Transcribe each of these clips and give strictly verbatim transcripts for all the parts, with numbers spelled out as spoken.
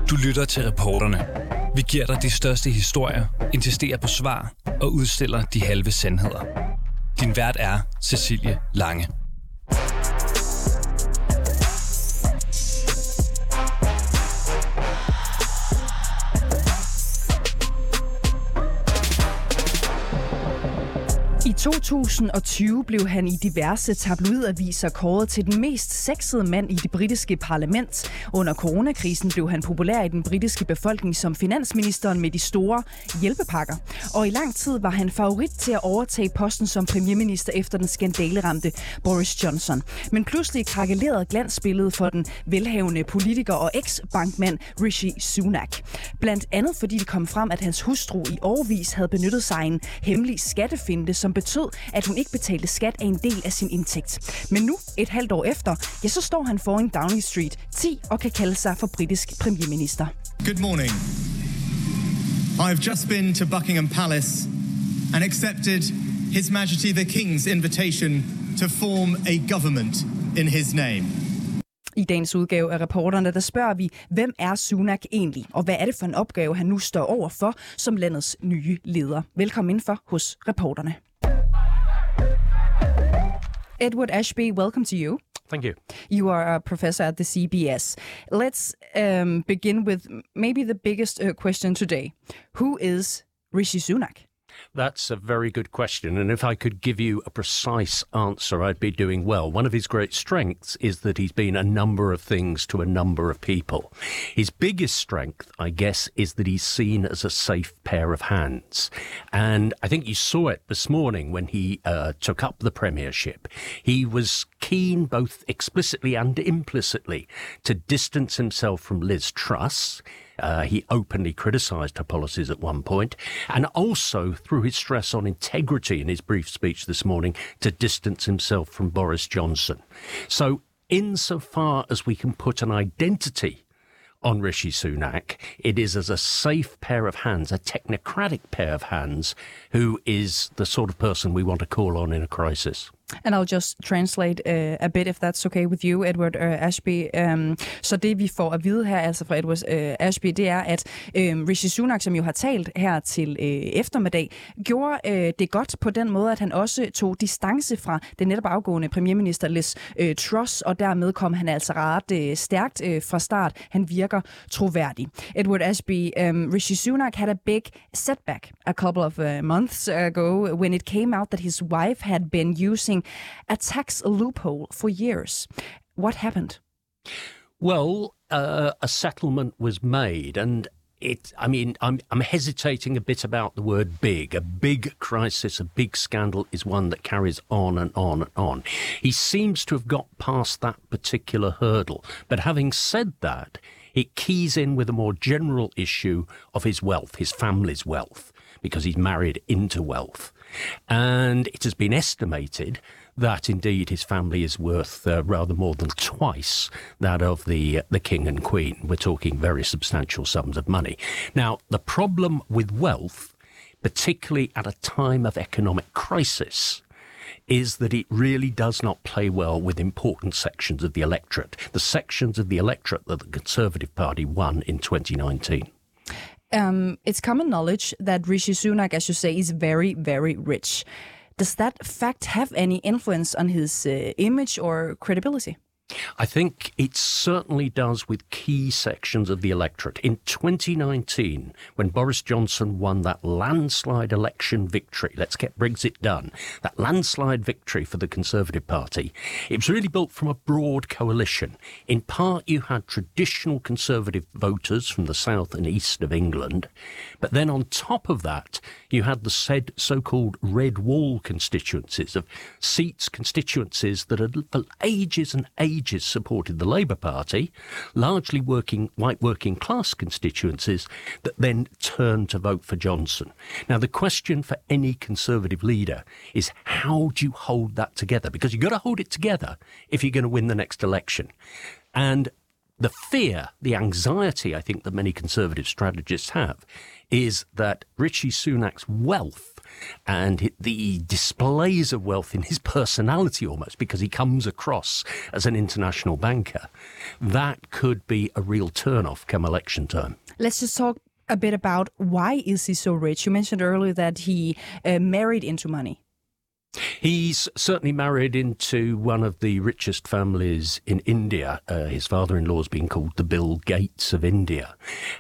Du lytter til Reporterne. Vi giver dig de største historier, insisterer på svar og udstiller de halve sandheder. Din vært er Cecilie Lange. I to tusind og tyve blev han i diverse tabloidaviser kåret til den mest sexede mand i det britiske parlament. Under coronakrisen blev han populær i den britiske befolkning som finansministeren med de store hjælpepakker. Og i lang tid var han favorit til at overtage posten som premierminister efter den skandaleramte Boris Johnson. Men pludselig krakelerede glansbilledet for den velhavende politiker og eks-bankmand Rishi Sunak. Blandt andet fordi det kom frem, at hans hustru i årevis havde benyttet sig af en hemmelig skattefinte, som betød, at hun ikke betalte skat af en del af sin indtægt. Men nu, et halvt år efter, ja, så står han foran Downing Street ti og kan kalde sig for britisk premierminister. Good morning. I've just been to Buckingham Palace and accepted His Majesty the King's invitation to form a government in his name. I dagens udgave af Reporterne, der spørger vi, hvem er Sunak egentlig, og hvad er det for en opgave, han nu står over for som landets nye leder. Velkommen indenfor hos Reporterne. Edward Ashby, welcome to you. Thank you. You are a professor at the C B S. Let's um, begin with maybe the biggest uh, question today. Who is Rishi Sunak? That's a very good question, and if I could give you a precise answer, I'd be doing well. One of his great strengths is that he's been a number of things to a number of people. His biggest strength, I guess, is that he's seen as a safe pair of hands. And I think you saw it this morning when he uh, took up the premiership. He was keen, both explicitly and implicitly, to distance himself from Liz Truss. Uh, he openly criticised her policies at one point, and also threw his stress on integrity in his brief speech this morning to distance himself from Boris Johnson. So insofar as we can put an identity on Rishi Sunak, it is as a safe pair of hands, a technocratic pair of hands, who is the sort of person we want to call on in a crisis. And I'll just translate uh, a bit, if that's okay with you, Edward uh, Ashby. Um, så det vi får at vide her, altså fra Edward uh, Ashby, det er, at uh, Rishi Sunak, som jo har talt her til uh, eftermiddag, gjorde uh, det godt på den måde, at han også tog distance fra den netop afgående premierminister Liz uh, Truss, og dermed kom han altså ret uh, stærkt uh, fra start. Han virker troværdig. Edward Ashby, um, Rishi Sunak had a big setback a couple of uh, months ago when it came out that his wife had been using a tax loophole for years. What happened? Well, uh, a settlement was made, and it, I mean, I'm, I'm hesitating a bit about the word big. A big crisis, a big scandal is one that carries on and on and on. He seems to have got past that particular hurdle. But having said that, it keys in with a more general issue of his wealth, his family's wealth, because he's married into wealth. And it has been estimated that indeed his family is worth uh, rather more than twice that of the uh, the king and queen. We're talking very substantial sums of money. Now, the problem with wealth, particularly at a time of economic crisis, is that it really does not play well with important sections of the electorate, the sections of the electorate that the Conservative Party won in twenty nineteen. Um, it's common knowledge that Rishi Sunak, as you say, is very, very rich. Does that fact have any influence on his uh, image or credibility? I think it certainly does with key sections of the electorate. In twenty nineteen, when Boris Johnson won that landslide election victory, let's get Brexit done, that landslide victory for the Conservative Party, it was really built from a broad coalition. In part, you had traditional Conservative voters from the south and east of England, but then on top of that, you had the said so-called red wall constituencies of seats, constituencies that had for ages and ages supported the Labour Party, largely working white working class constituencies that then turned to vote for Johnson. Now, the question for any Conservative leader is, how do you hold that together? Because you've got to hold it together if you're going to win the next election. And the fear, the anxiety, I think, that many Conservative strategists have is that Rishi Sunak's wealth and the displays of wealth in his personality almost, because he comes across as an international banker, that could be a real turn-off come election time. Let's just talk a bit about why is he so rich? You mentioned earlier that he uh, married into money. He's certainly married into one of the richest families in India. Uh, his father-in-law has been called the Bill Gates of India.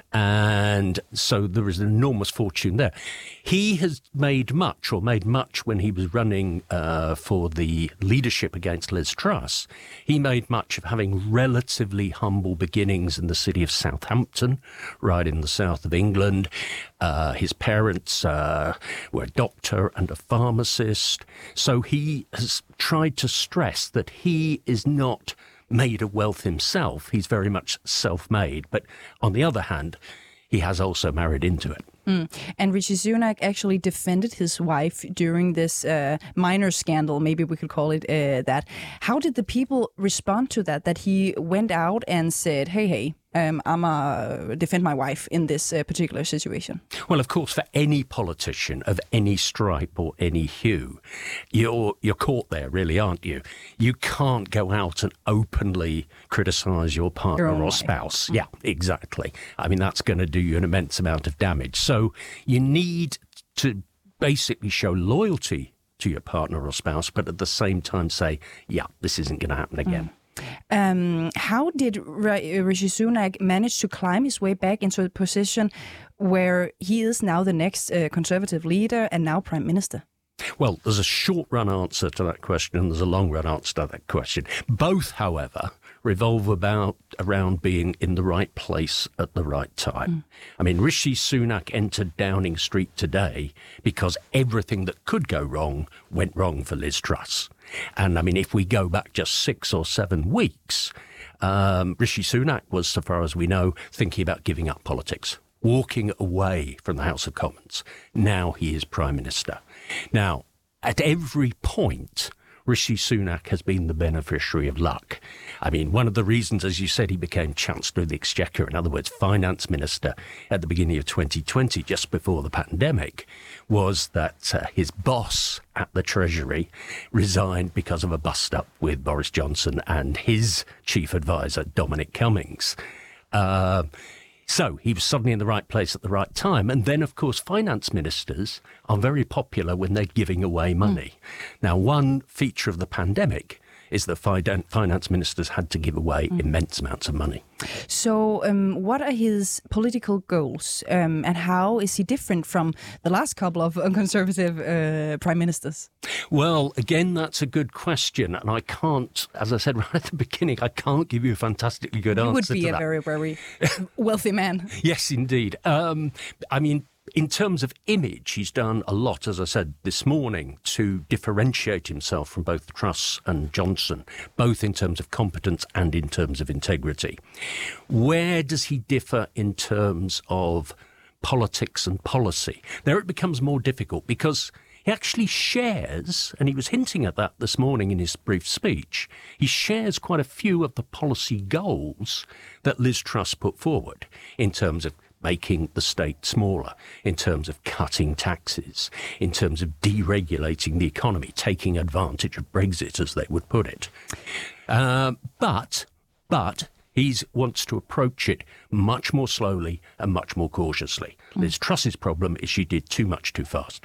And so there is an enormous fortune there. He has made much, or made much when he was running uh, for the leadership against Liz Truss. He made much of having relatively humble beginnings in the city of Southampton, right in the south of England. Uh, his parents uh, were a doctor and a pharmacist. So he has tried to stress that he is not made of wealth himself. He's very much self-made. But on the other hand, he has also married into it. Mm. And Rishi Sunak actually defended his wife during this uh, minor scandal, maybe we could call it uh, that. How did the people respond to that, that he went out and said, hey, hey, um, I'm going to defend my wife in this uh, particular situation? Well, of course, for any politician of any stripe or any hue, you're, you're caught there, really, aren't you? You can't go out and openly criticise your partner your or wife. spouse. Mm. Yeah, exactly. I mean, that's going to do you an immense amount of damage. So you need to basically show loyalty to your partner or spouse, but at the same time say, yeah, this isn't going to happen again. Mm. Um, how did Rishi Sunak manage to climb his way back into a position where he is now the next uh, Conservative leader and now Prime Minister? Well, there's a short-run answer to that question and there's a long-run answer to that question. Both, however, revolve about around being in the right place at the right time. Mm. I mean, Rishi Sunak entered Downing Street today because everything that could go wrong went wrong for Liz Truss. And I mean, if we go back just six or seven weeks, um, Rishi Sunak was, so far as we know, thinking about giving up politics, walking away from the House of Commons. Now he is Prime Minister. Now, at every point, Rishi Sunak has been the beneficiary of luck. I mean, one of the reasons, as you said, he became Chancellor of the Exchequer, in other words, Finance Minister at the beginning of twenty twenty, just before the pandemic, was that uh, his boss at the Treasury resigned because of a bust-up with Boris Johnson and his chief advisor, Dominic Cummings. Uh, So he was suddenly in the right place at the right time. And then, of course, finance ministers are very popular when they're giving away money. Mm. Now, one feature of the pandemic is that finance ministers had to give away mm. immense amounts of money. So um, what are his political goals um, and how is he different from the last couple of Conservative uh, prime ministers? Well, again, that's a good question. And I can't, as I said right at the beginning, I can't give you a fantastically good you answer to that. You would be a very, very wealthy man. Yes, indeed. Um, I mean, in terms of image, he's done a lot, as I said this morning, to differentiate himself from both Truss and Johnson, both in terms of competence and in terms of integrity. Where does he differ in terms of politics and policy? There it becomes more difficult because he actually shares, and he was hinting at that this morning in his brief speech, he shares quite a few of the policy goals that Liz Truss put forward in terms of making the state smaller, in terms of cutting taxes, in terms of deregulating the economy, taking advantage of Brexit, as they would put it. Uh, but, but he wants to approach it much more slowly and much more cautiously. Mm. Liz Truss's problem is she did too much too fast.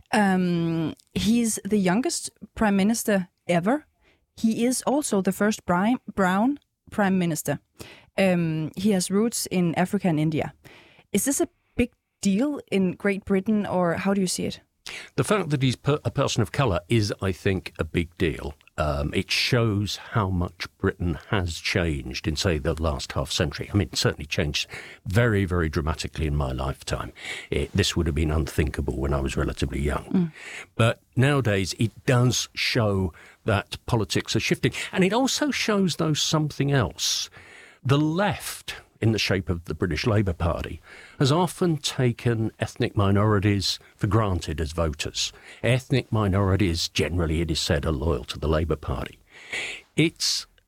Um, he's the youngest prime minister ever. He is also the first brown prime minister. Um, he has roots in Africa and India. Is this a big deal in Great Britain, or how do you see it? The fact that he's per- a person of colour is, I think, a big deal. Um, it shows how much Britain has changed in, say, the last half century. I mean, it certainly changed very, very dramatically in my lifetime. It, this would have been unthinkable when I was relatively young. Mm. But nowadays, it does show that politics are shifting. And it also shows, though, something else. The left, in the shape of the British Labour Party, has often taken ethnic minorities for granted as voters. Ethnic minorities, generally, it is said, are loyal to the Labour Party. It's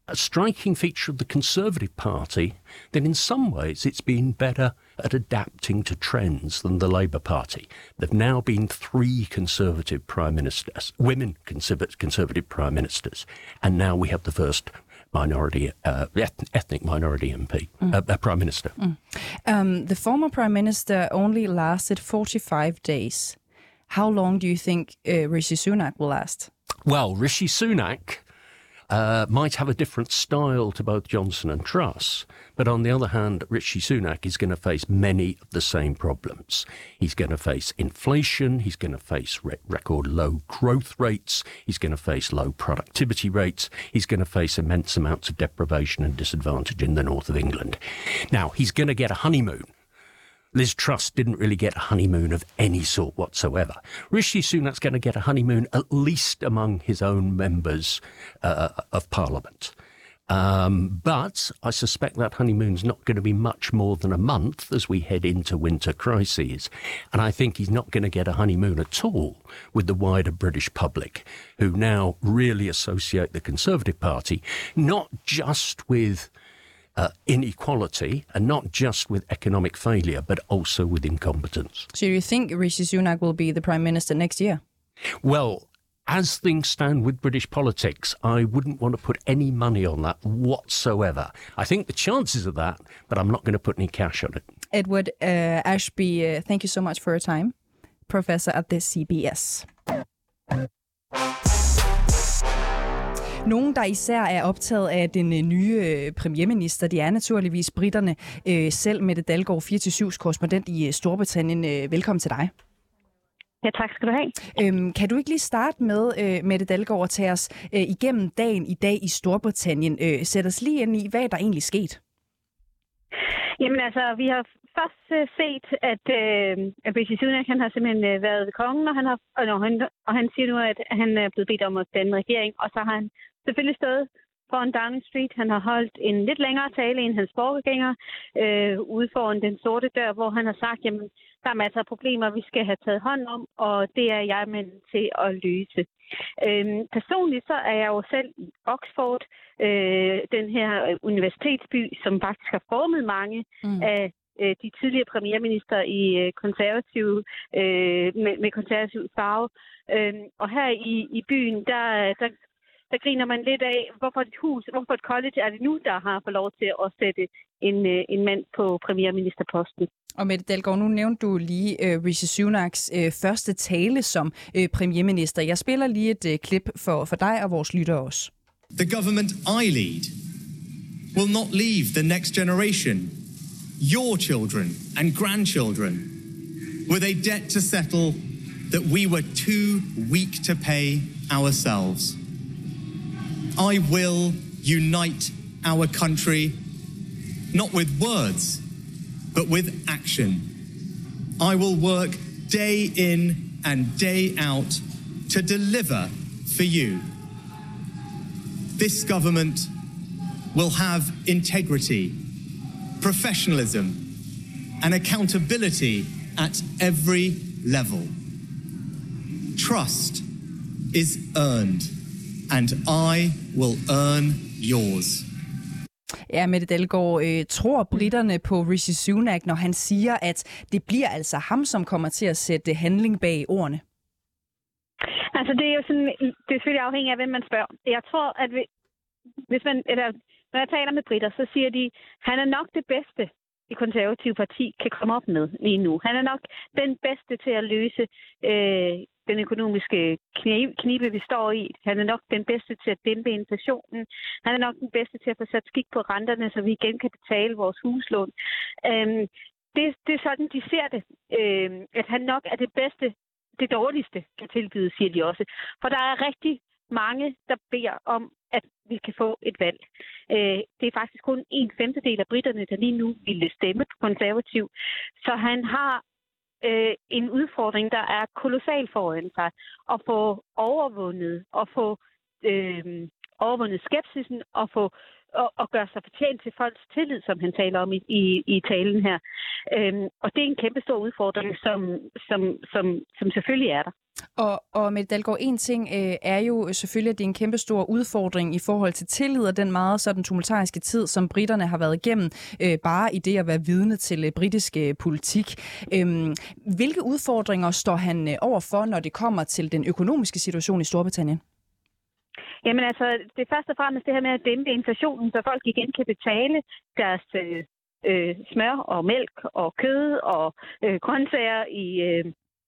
a striking feature of the Conservative Party that in some ways it's been better at adapting to trends than the Labour Party. There've now been three Conservative prime ministers, women Conservative prime ministers, and now we have the first minority, uh, ethnic minority M P, mm. uh, uh, prime minister. Mm. Um, the former prime minister only lasted forty-five days. How long do you think uh, Rishi Sunak will last? Well, Rishi Sunak uh, might have a different style to both Johnson and Truss, but on the other hand, Rishi Sunak is going to face many of the same problems. He's going to face inflation, he's going to face re- record low growth rates, he's going to face low productivity rates, he's going to face immense amounts of deprivation and disadvantage in the north of England. Now, he's going to get a honeymoon. Liz Truss didn't really get a honeymoon of any sort whatsoever. Rishi Sunak's going to get a honeymoon at least among his own members uh, of Parliament. Um, but I suspect that honeymoon's not going to be much more than a month as we head into winter crises. And I think he's not going to get a honeymoon at all with the wider British public, who now really associate the Conservative Party not just with Uh, inequality and not just with economic failure, but also with incompetence. So you think Rishi Sunak will be the Prime Minister next year? Well, as things stand with British politics, I wouldn't want to put any money on that whatsoever. I think the chances of that, but I'm not going to put any cash on it. Edward uh, Ashby, uh, thank you so much for your time. Professor at the C B S. Nogen, der især er optaget af den nye premierminister, det er naturligvis britterne. Selv Mette Dalgaard, fire til syv's korrespondent i Storbritannien. Velkommen til dig. Ja, tak skal du have. Øhm, kan du ikke lige starte med, øh, Mette Dalgaard, at tage os øh, igennem dagen i dag i Storbritannien? Øh, sæt os lige ind i, hvad der egentlig skete. Jamen altså, vi har først uh, set, at, uh, at Rishi Sunak, han har simpelthen uh, været ved kongen, og han, har, og, når han, og han siger nu, at han er blevet bedt om at danne en regering, og så har han selvfølgelig stået foran Downing Street. Han har holdt en lidt længere tale end hans forgænger øh, ude foran den sorte dør, hvor han har sagt, jamen, der er masser af problemer, vi skal have taget hånd om, og det er jeg med til at løse. Øhm, personligt så er jeg jo selv i Oxford, øh, den her universitetsby, som faktisk har formet mange mm. af øh, de tidligere premierminister i øh, konservative, øh, med, med konservativ farve. Øhm, og her i, i byen, der, der Der griner man lidt af, hvorfor et hus, hvorfor et college er det nu, der har fået lov til at sætte en, en mand på premierministerposten. Og Mette Dalgaard, nu nævnte du lige uh, Rishi Sunaks uh, første tale som uh, premierminister. Jeg spiller lige et uh, klip for, for dig og vores lyttere også. The government I lead will not leave the next generation, your children and grandchildren, with a debt to settle that we were too weak to pay ourselves. I will unite our country, not with words, but with action. I will work day in and day out to deliver for you. This government will have integrity, professionalism, and accountability at every level. Trust is earned, and I will earn yours. Ja, Mette Dalgaard, øh, tror britterne på Rishi Sunak, når han siger, at det bliver altså ham, som kommer til at sætte handling bag ordene? Altså, det er jo sådan, det er selvfølgelig afhængigt af, hvem man spørger. Jeg tror, at hvis man, eller, når jeg taler med britter, så siger de, han er nok det bedste, det konservative parti kan komme op med lige nu. Han er nok den bedste til at løse øh, den økonomiske knibe, vi står i. Han er nok den bedste til at dæmpe inflationen. Han er nok den bedste til at få sat skik på renterne, så vi igen kan betale vores huslån. Øhm, det, det er sådan, de ser det. Øhm, at han nok er det bedste, det dårligste kan tilbyde, siger de også. For der er rigtig mange, der beder om, at vi kan få et valg. Øh, det er faktisk kun en femtedel af britterne, der lige nu ville stemme på konservativ. Så han har øh, en udfordring, der er kolossal foran sig. At få overvundet, og få øh, overvundet skepsisen, og få og, og gøre sig fortjent til folks tillid, som han taler om i, i, i talen her. Øhm, og det er en kæmpe stor udfordring, som, som, som, som selvfølgelig er der. Og, og Mette Dalgaard, en ting øh, er jo selvfølgelig, at det er en kæmpe stor udfordring i forhold til tillid og den meget sådan tumultariske tid, som britterne har været igennem, øh, bare i det at være vidne til øh, britisk øh, politik. Øhm, hvilke udfordringer står han øh, overfor, når det kommer til den økonomiske situation i Storbritannien? Jamen altså, det er først og fremmest det her med at dæmpe inflationen, så folk igen kan betale deres øh, øh, smør og mælk og kød og øh, grøntsager i... Øh,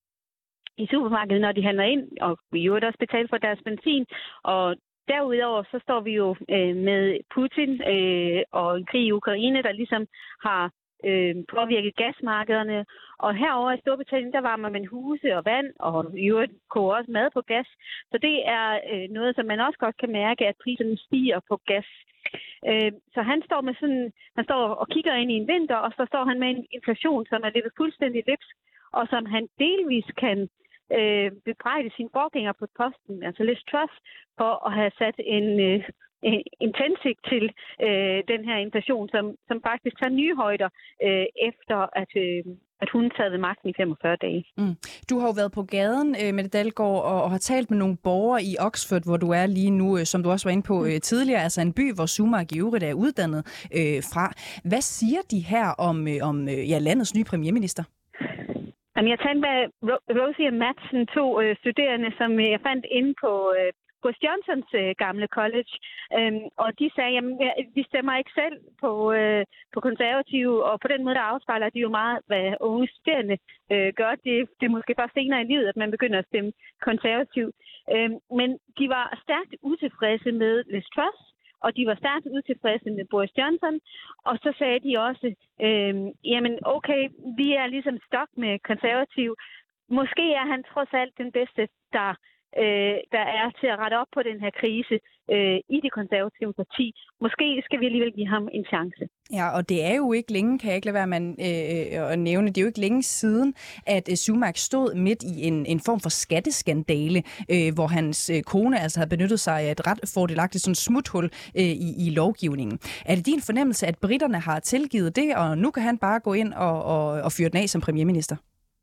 i supermarkedet, når de handler ind, og vi jo også betale for deres benzin. Og derudover så står vi jo øh, med Putin øh, og en krig i Ukraine, der ligesom har øh, påvirket gasmarkederne. Og herover i Storbritannien, der varmer man huse og vand, og i øvrigt koger også mad på gas. Så det er øh, noget, som man også godt kan mærke, at priserne stiger på gas. Øh, så han står med sådan, han står og kigger ind i en vinter, og så står han med en inflation, som er lidt fuldstændig løbsk, og som han delvis kan Øh, bebrejde sine forgænger på posten, altså Liz Truss, for at have sat en, øh, en tændsigt til øh, den her inflation, som, som faktisk tager nye højder, øh, efter at, øh, at hun sad ved magten i femogfyrre dage. Mm. Du har jo været på gaden, øh, Mette Dalgaard, og, og har talt med nogle borgere i Oxford, hvor du er lige nu, øh, som du også var inde på øh, tidligere, altså en by, hvor Sunak i øvrigt er uddannet øh, fra. Hvad siger de her om, øh, om øh, ja, landets nye premierminister? Jamen, jeg talte med Rosie og Madsen, to øh, studerende, som jeg fandt inde på øh, Boris Johnsons øh, gamle college. Øhm, og de sagde, at de stemmer ikke selv på, øh, på konservative, og på den måde, der afspejler de jo meget, hvad unge studerende øh, gør. Det, det er måske først senere i livet, at man begynder at stemme konservativ. Øhm, men de var stærkt utilfredse med Liz Truss, og de var stærkt utilfredse med Boris Johnson. Og så sagde de også, øh, jamen okay, vi er ligesom stok med konservativ. Måske er han trods alt den bedste, der, øh, der er til at rette op på den her krise øh, i det konservative parti. Måske skal vi alligevel give ham en chance. Ja, og det er jo ikke længe, kan jeg ikke lade være med øh, at nævne, det er jo ikke længe siden, at øh, Sunak stod midt i en, en form for skatteskandale, øh, hvor hans øh, kone altså havde benyttet sig af et ret fordelagtigt sådan smuthul øh, i, i lovgivningen. Er det din fornemmelse, at britterne har tilgivet det, og nu kan han bare gå ind og, og, og fyre den af som premierminister?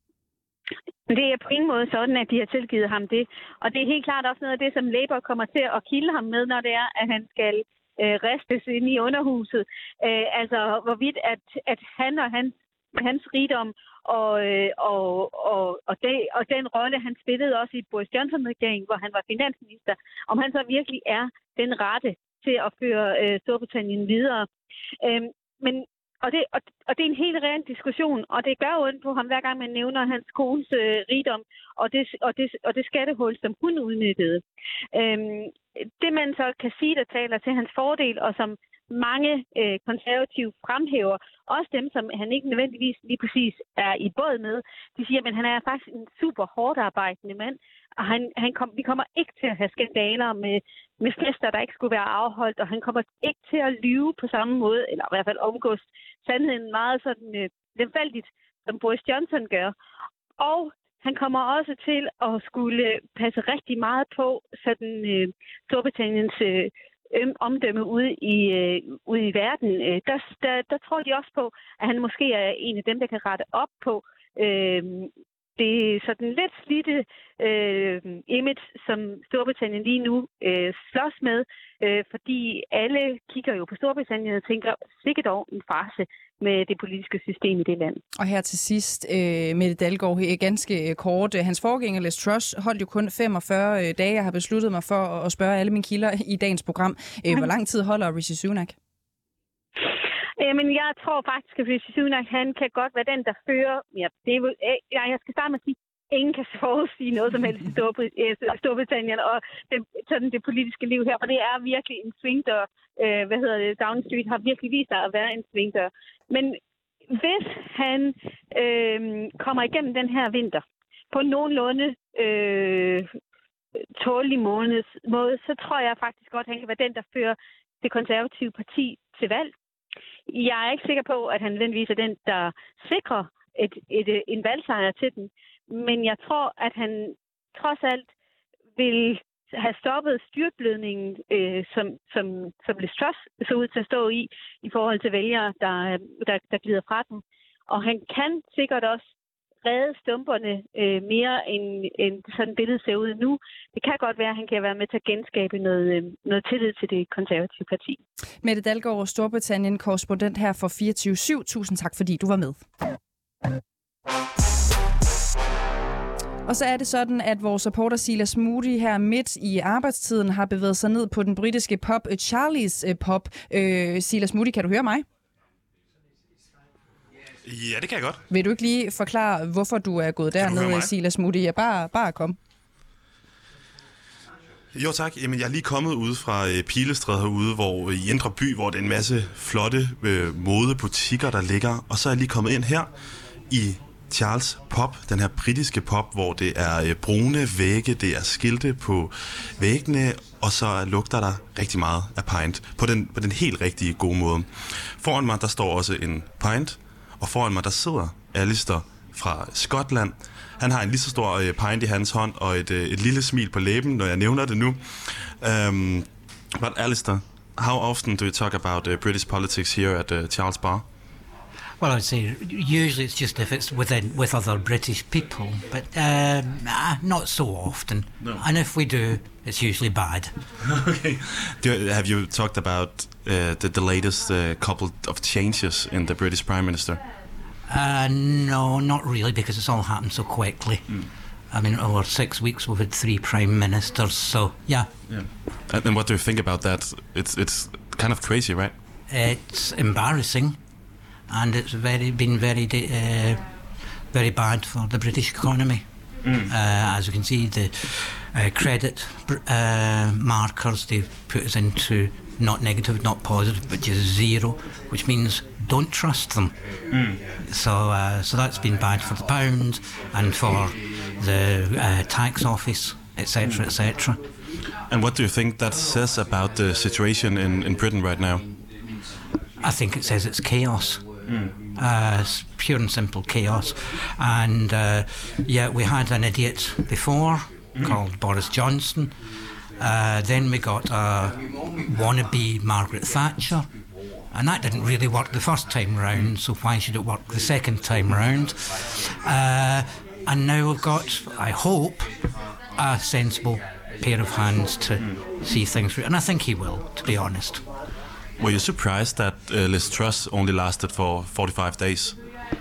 Det er på ingen måde sådan, at de har tilgivet ham det. Og det er helt klart også noget af det, som Labour kommer til at kilde ham med, når det er, at han skal øh, ristes ind i underhuset. Øh, altså, hvorvidt at, at han og hans, hans rigdom og, øh, og, og, og, det, og den rolle, han spillede også i Boris Johnson-regeringen, hvor han var finansminister, om han så virkelig er den rette til at føre øh, Storbritannien videre. Øh, men Og det, og, og det er en helt reel diskussion, og det gør ondt på ham, hver gang man nævner hans kones øh, rigdom og det, og, det, og det skattehul, som hun udnyttede. Øhm, det man så kan sige, der taler til hans fordel, og som mange øh, konservative fremhæver, også dem, som han ikke nødvendigvis lige præcis er i båd med, de siger, at han er faktisk en super hårdt arbejdende mand, og han, han kom, vi kommer ikke til at have skandaler med, med fester, der ikke skulle være afholdt, og han kommer ikke til at lyve på samme måde, eller i hvert fald omgås sandheden meget sådan øh, lemfældigt, som Boris Johnson gør. Og han kommer også til at skulle passe rigtig meget på sådan øh, Storbritanniens øh, omdømme ude i, øh, ude i verden. Øh, der, der, der tror de også på, at han måske er en af dem, der kan rette op på øh, det er sådan lidt slidte øh, image, som Storbritannien lige nu øh, slås med, øh, fordi alle kigger jo på Storbritannien og tænker, sikkert dog en farce med det politiske system i det land. Og her til sidst, øh, Mette Dalgaard, ganske kort. Hans forgænger, Liz Truss, holdt jo kun femogfyrre dage. Jeg har besluttet mig for at spørge alle mine kilder i dagens program. Øh, hvor lang tid holder Rishi Sunak? Men jeg tror faktisk, at Rishi Sunak, han kan godt være den, der fører... Ja, det er, ja, jeg skal starte med at sige, at ingen kan forudsige noget som helst i Storbritannien og det, sådan det politiske liv her, for det er virkelig en svingdør. Øh, hvad hedder det? Downing Street har virkelig vist sig at være en svingdør. Men hvis han øh, kommer igennem den her vinter på nogenlunde øh, tålig måde, så tror jeg faktisk godt, at han kan være den, der fører det konservative parti til valg. Jeg er ikke sikker på, at han nødvendigvis er den, der sikrer et, et, en valgsejr til den. Men jeg tror, at han trods alt vil have stoppet styrtblødningen, øh, som, som, som Liz Truss så ud til at stå i, i forhold til vælgere, der, der, der glider fra den. Og han kan sikkert også redde stumperne øh, mere, end, end sådan et billede ser ud nu. Det kan godt være, at han kan være med til at genskabe noget, øh, noget tillid til det konservative parti. Mette Dalgaard, Storbritannien, korrespondent her for fireogtyve syv. Tusind tak, fordi du var med. Og så er det sådan, at vores reporter Silas Moody her midt i arbejdstiden har bevæget sig ned på den britiske pub Charlie's Pub. Øh, Silas Moody, kan du høre mig? Ja, det kan jeg godt. Vil du ikke lige forklare, hvorfor du er gået dernede, Silas Moody? Ja, bare, bare kom. Jo tak. Jamen, jeg er lige kommet ude fra øh, Pilestræde herude, hvor i Indre By, hvor det er en masse flotte øh, modebutikker, der ligger. Og så er jeg lige kommet ind her i Charles Pub, den her britiske pub, hvor det er øh, brune vægge, det er skilte på væggene, og så lugter der rigtig meget af pint på den, på den helt rigtige gode måde. Foran mig, der står også en pint, og foran mig, der sidder Alistair fra Skotland. Han har en lige så stor øh, pint i hans hånd, og et, øh, et lille smil på læben, når jeg nævner det nu. Um, but Alistair, how often do you talk about uh, British politics here at uh, Charles Bar? Well, I would say usually it's just if it's within with other British people, but um, not so often. No. And if we do, it's usually bad. Okay. Do you, have you talked about uh, the, the latest uh, couple of changes in the British Prime Minister? Uh, no, not really, because it's all happened so quickly. Mm. I mean, over six weeks we've had three prime ministers, so yeah. Yeah. And, and what do you think about that? It's it's kind of crazy, right? It's embarrassing. And it's very been very uh, very bad for the British economy. Mm. Uh, as you can see, the uh, credit uh, markers they've put us into not negative, not positive, but just zero, which means don't trust them. Mm. So, uh, so that's been bad for the pound and for the uh, tax office, et cetera, et cetera. And what do you think that says about the situation in, in Britain right now? I think it says it's chaos. Mm. Uh, it's pure and simple chaos. And uh, yeah, we had an idiot before mm. called Boris Johnson. Uh, then we got a wannabe Margaret Thatcher. And that didn't really work the first time round, so why should it work the second time round? Uh, and now we've got, I hope, a sensible pair of hands to mm. see things through. And I think he will, to be honest. Were you surprised that uh, Liz Truss only lasted for forty-five days?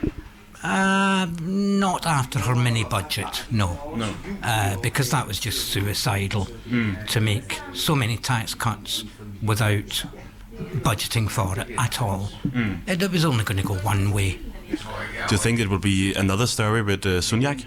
Uh, not after her mini budget, no. No. Uh, because that was just suicidal mm. to make so many tax cuts without budgeting for it at all. Mm. It, it was only going to go one way. Do you think it will be another story with uh, Sunak?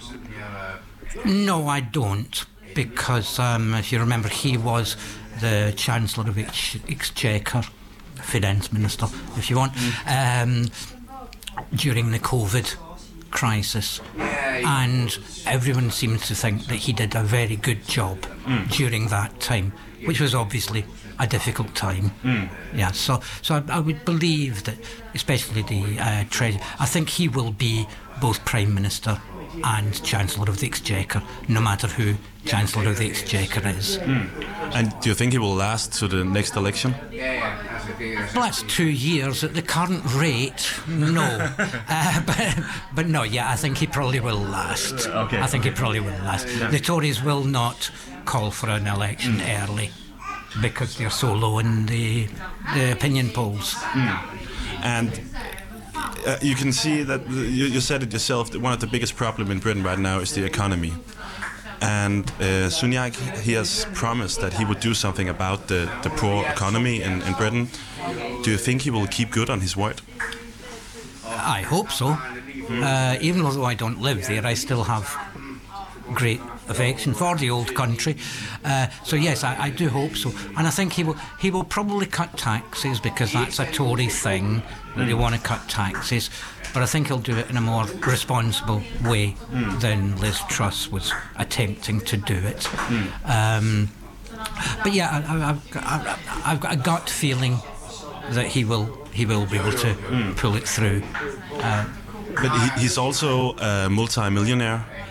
No, I don't. Because um, if you remember, he was the Chancellor of Ex- Exchequer, Finance Minister, if you want, um, during the COVID crisis. And everyone seems to think that he did a very good job mm. during that time, which was obviously a difficult time. Mm. Yeah, so so I, I would believe that, especially the uh, Treasury, I think he will be both Prime Minister and Chancellor of the Exchequer, no matter who Chancellor of the Exchequer is. Mm. And do you think he will last to the next election? Well, that's two years at the current rate. No, uh, but but no, yeah, I think he probably will last. Okay. I think he probably will last. Yeah. The Tories will not call for an election mm. early because they're so low in the the opinion polls. Mm. And uh, you can see that you, you said it yourself. That one of the biggest problems in Britain right now is the economy. And uh, Sunak, he has promised that he would do something about the, the poor economy in, in Britain. Do you think he will keep good on his word? I hope so. Mm. Uh, even though I don't live there, I still have great affection for the old country. Uh, so yes, I, I do hope so. And I think he will he will probably cut taxes because that's a Tory thing, that they want to cut taxes. But I think he'll do it in a more responsible way mm. than Liz Truss was attempting to do it. Mm. Um, but yeah, I, I, I, I've got a gut feeling that he will he will be able to mm. pull it through. Uh, but he, he's also a multi-millionaire,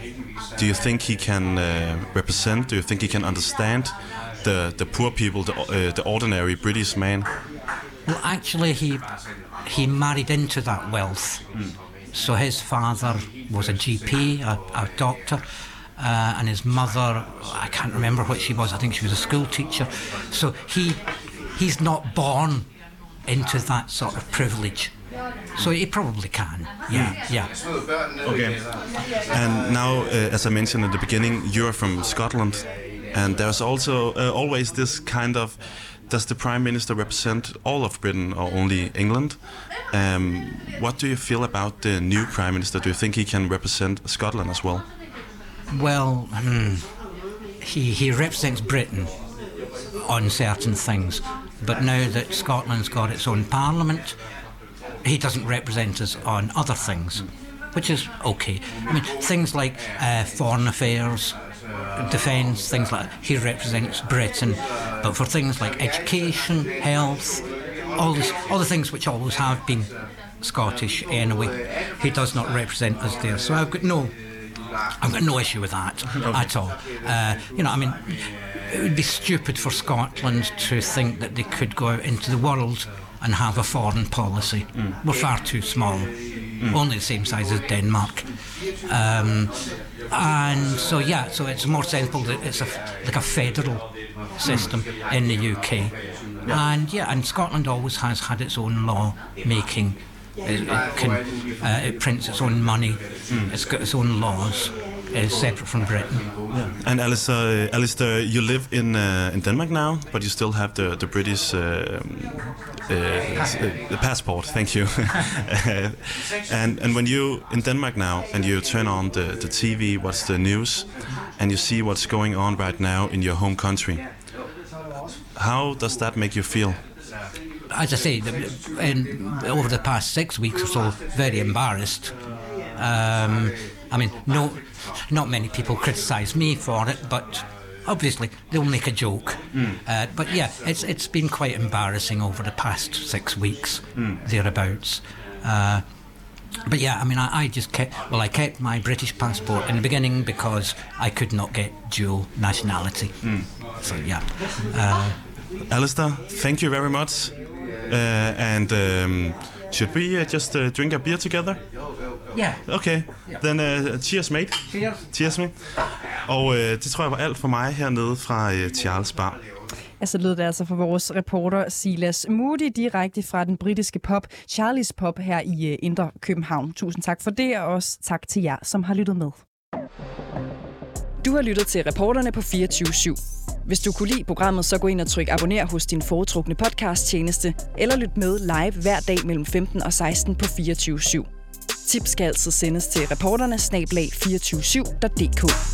do you think he can uh, represent? Do you think he can understand the the poor people, the uh, the ordinary British man? Well, actually, he he married into that wealth. Mm. So his father was a G P, a, a doctor, uh, and his mother, I can't remember what she was. I think she was a school teacher. So he he's not born into that sort of privilege. So he probably can, yeah, yeah. Okay. And now, uh, as I mentioned at the beginning, you're from Scotland, and there's also uh, always this kind of, does the Prime Minister represent all of Britain or only England? Um, what do you feel about the new Prime Minister? Do you think he can represent Scotland as well? Well, hmm, he, he represents Britain on certain things, but now that Scotland's got its own parliament, he doesn't represent us on other things, which is okay. I mean, things like uh, foreign affairs, defence, things like that, he represents Britain. But for things like education, health, all this, all the things which always have been Scottish anyway, he does not represent us there. So I've got no, I've got no issue with that at all. Uh, you know, I mean, it would be stupid for Scotland to think that they could go out into the world and have a foreign policy. Mm. We're far too small, mm. only the same size as Denmark. Um, and so, yeah, so it's more sensible that it's a, like a federal system mm. in the U K. Yeah. And, yeah, and Scotland always has had its own law making. It, it, can, uh, it prints its own money. Mm. It's got its own laws. It's separate from Britain. Yeah. And Alistair, uh, Alistair, you live in uh, in Denmark now, but you still have the the British uh, uh, the passport. Thank you. and and when you in Denmark now, and you turn on the the T V, what's the news, and you see what's going on right now in your home country, how does that make you feel? As I say, in, over the past six weeks or so, very embarrassed. Um, I mean, no, not many people criticise me for it, but obviously they'll make a joke. Mm. Uh, but yeah, it's it's been quite embarrassing over the past six weeks, mm. thereabouts. Uh, but yeah, I mean, I, I just kept, well, I kept my British passport in the beginning because I could not get dual nationality. Mm. So yeah. Uh, Alistair, thank you very much. Uh, and um, should we uh, just uh, drink a beer together? Ja. Yeah. Okay, then uh, cheers mate. Cheers. Cheers mate. Og uh, det tror jeg var alt for mig hernede fra uh, Charles Bar. Ja, så lød det altså fra vores reporter Silas Moody direkte fra den britiske pub Charlie's Pub her i uh, Indre København. Tusind tak for det, og også tak til jer, som har lyttet med. Du har lyttet til Reporterne på fireogtyve syv. Hvis du kunne lide programmet, så gå ind og tryk abonner hos din foretrukne podcasttjeneste, eller lyt med live hver dag mellem femten og seksten på fireogtyve syv. Tips skal altid sendes til reporterne snabel-a to fire syv punktum d k.